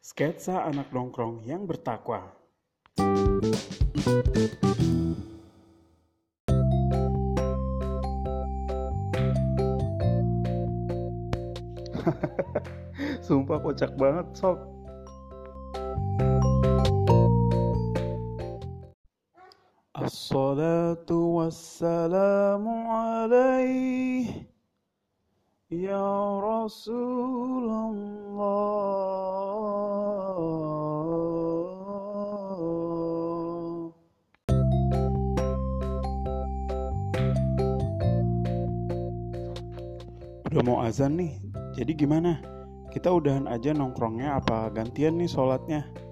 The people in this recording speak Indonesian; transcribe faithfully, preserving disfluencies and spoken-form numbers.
Sketsa anak nongkrong yang bertakwa. Sumpah kocak banget, sob. Assalatu wassalamu alaih ya Rasulullah. Udah mau azan nih, jadi gimana? Kita udahan aja nongkrongnya apa gantian nih sholatnya?